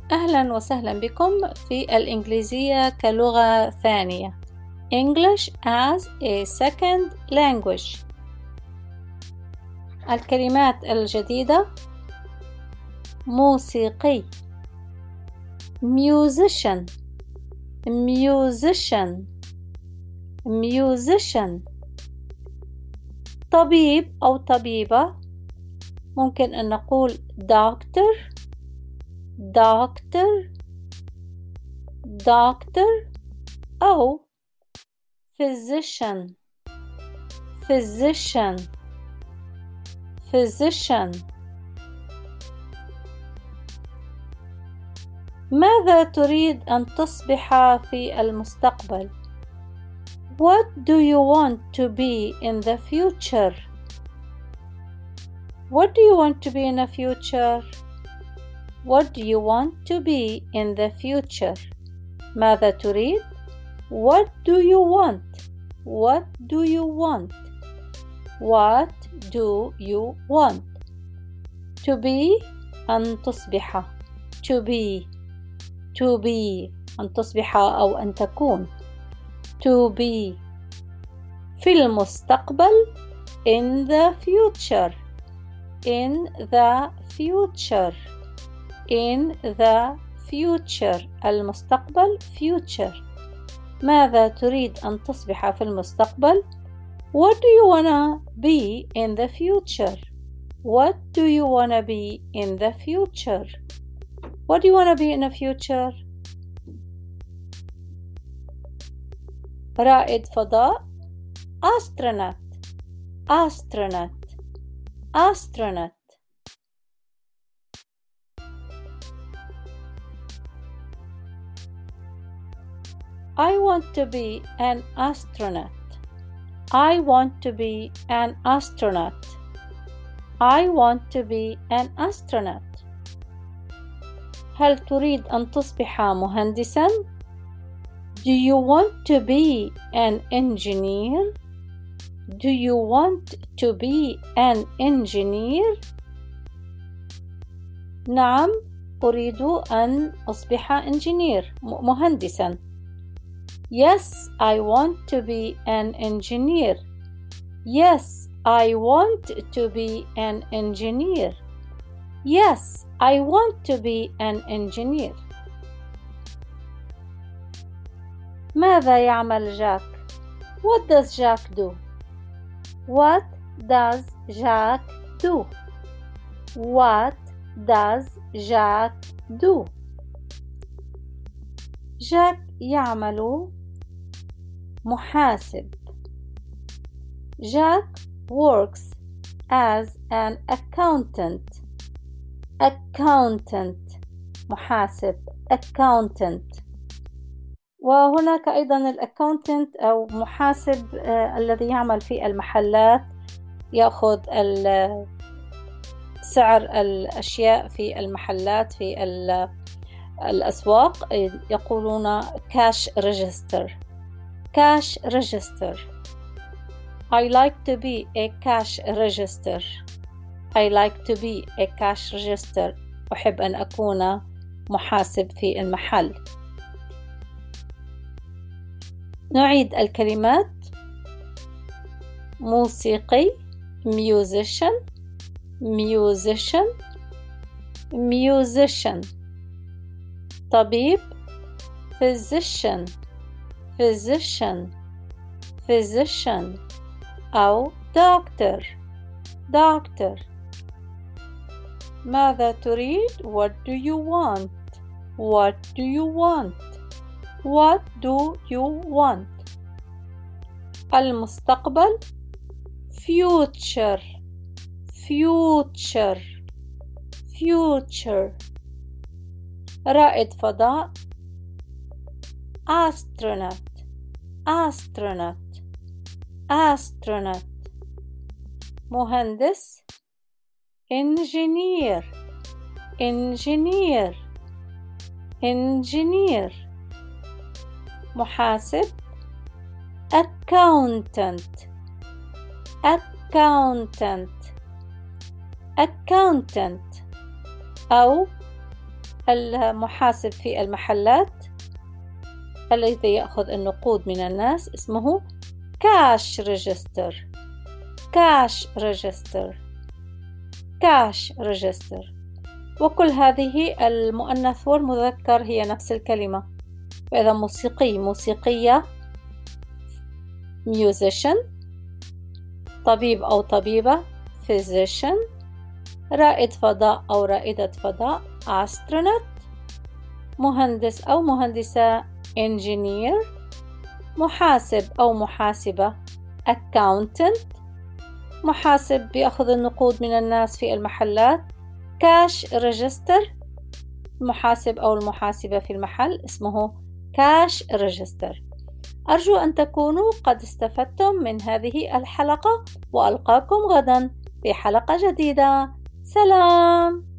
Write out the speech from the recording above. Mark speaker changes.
Speaker 1: أهلا وسهلا بكم في الإنجليزية كلغة ثانية English as a second language. الكلمات الجديدة: موسيقي musician musician musician. طبيب أو طبيبة ممكن أن نقول doctor doctor doctor أو physician physician physician. ماذا تريد أن تصبح في المستقبل؟ What do you want to be in the future? What do you want to be in the future? What do you want to be in the future? ماذا تريد؟ What do you want? What do you want? What do you want? To be أن تصبح. To be to be أن تصبح أو أن تكون. To be في المستقبل. In the future. In the future. In the future. المستقبل future. ماذا تريد أن تصبح في المستقبل؟ What do you wanna be in the future? What do you wanna be in the future? What do you wanna be in the future? رائد فضاء astronaut astronaut astronaut. I want to be an astronaut. I want to be an astronaut. I want to be an astronaut. هل تريد أن تصبح مهندساً؟ Do you want to be an engineer? Do you want to be an engineer? نعم، أريد أن أصبح مهندساً. Yes, I want to be an engineer. Yes, I want to be an engineer. Yes, I want to be an engineer. ماذا يعمل جاك؟ What does Jack do? What does Jack do? What does Jack do? جاك يعمل محاسب. Jack works as an accountant. Accountant محاسب accountant. وهناك أيضا الأكاونتنت أو محاسب الذي يعمل في المحلات، يأخذ سعر الأشياء في المحلات في الأسواق، يقولون cash register. cash register. I like to be a cash register. I like to be a cash register. أحب أن أكون محاسب في المحل. نعيد الكلمات: موسيقي musician musician musician. طبيب physician physician physician أو doctor doctor. ماذا تريد؟ What do you want? What do you want? What do you want? المستقبل future future future. رائد فضاء astronaut astronaut astronaut. مهندس engineer engineer engineer. محاسب accountant accountant accountant أو المحاسب في المحلات الذي يأخذ النقود من الناس اسمه cash register. cash register. cash register. وكل هذه المؤنث والمذكر هي نفس الكلمة. فإذا موسيقي، موسيقية musician. طبيب أو طبيبة physician. رائد فضاء أو رائدة فضاء astronaut. مهندس أو مهندسة engineer. محاسب أو محاسبة accountant. محاسب بيأخذ النقود من الناس في المحلات cash register. المحاسب أو المحاسبة في المحل اسمه cash register. أرجو أن تكونوا قد استفدتم من هذه الحلقة، وألقاكم غدا في حلقة جديدة. سلام.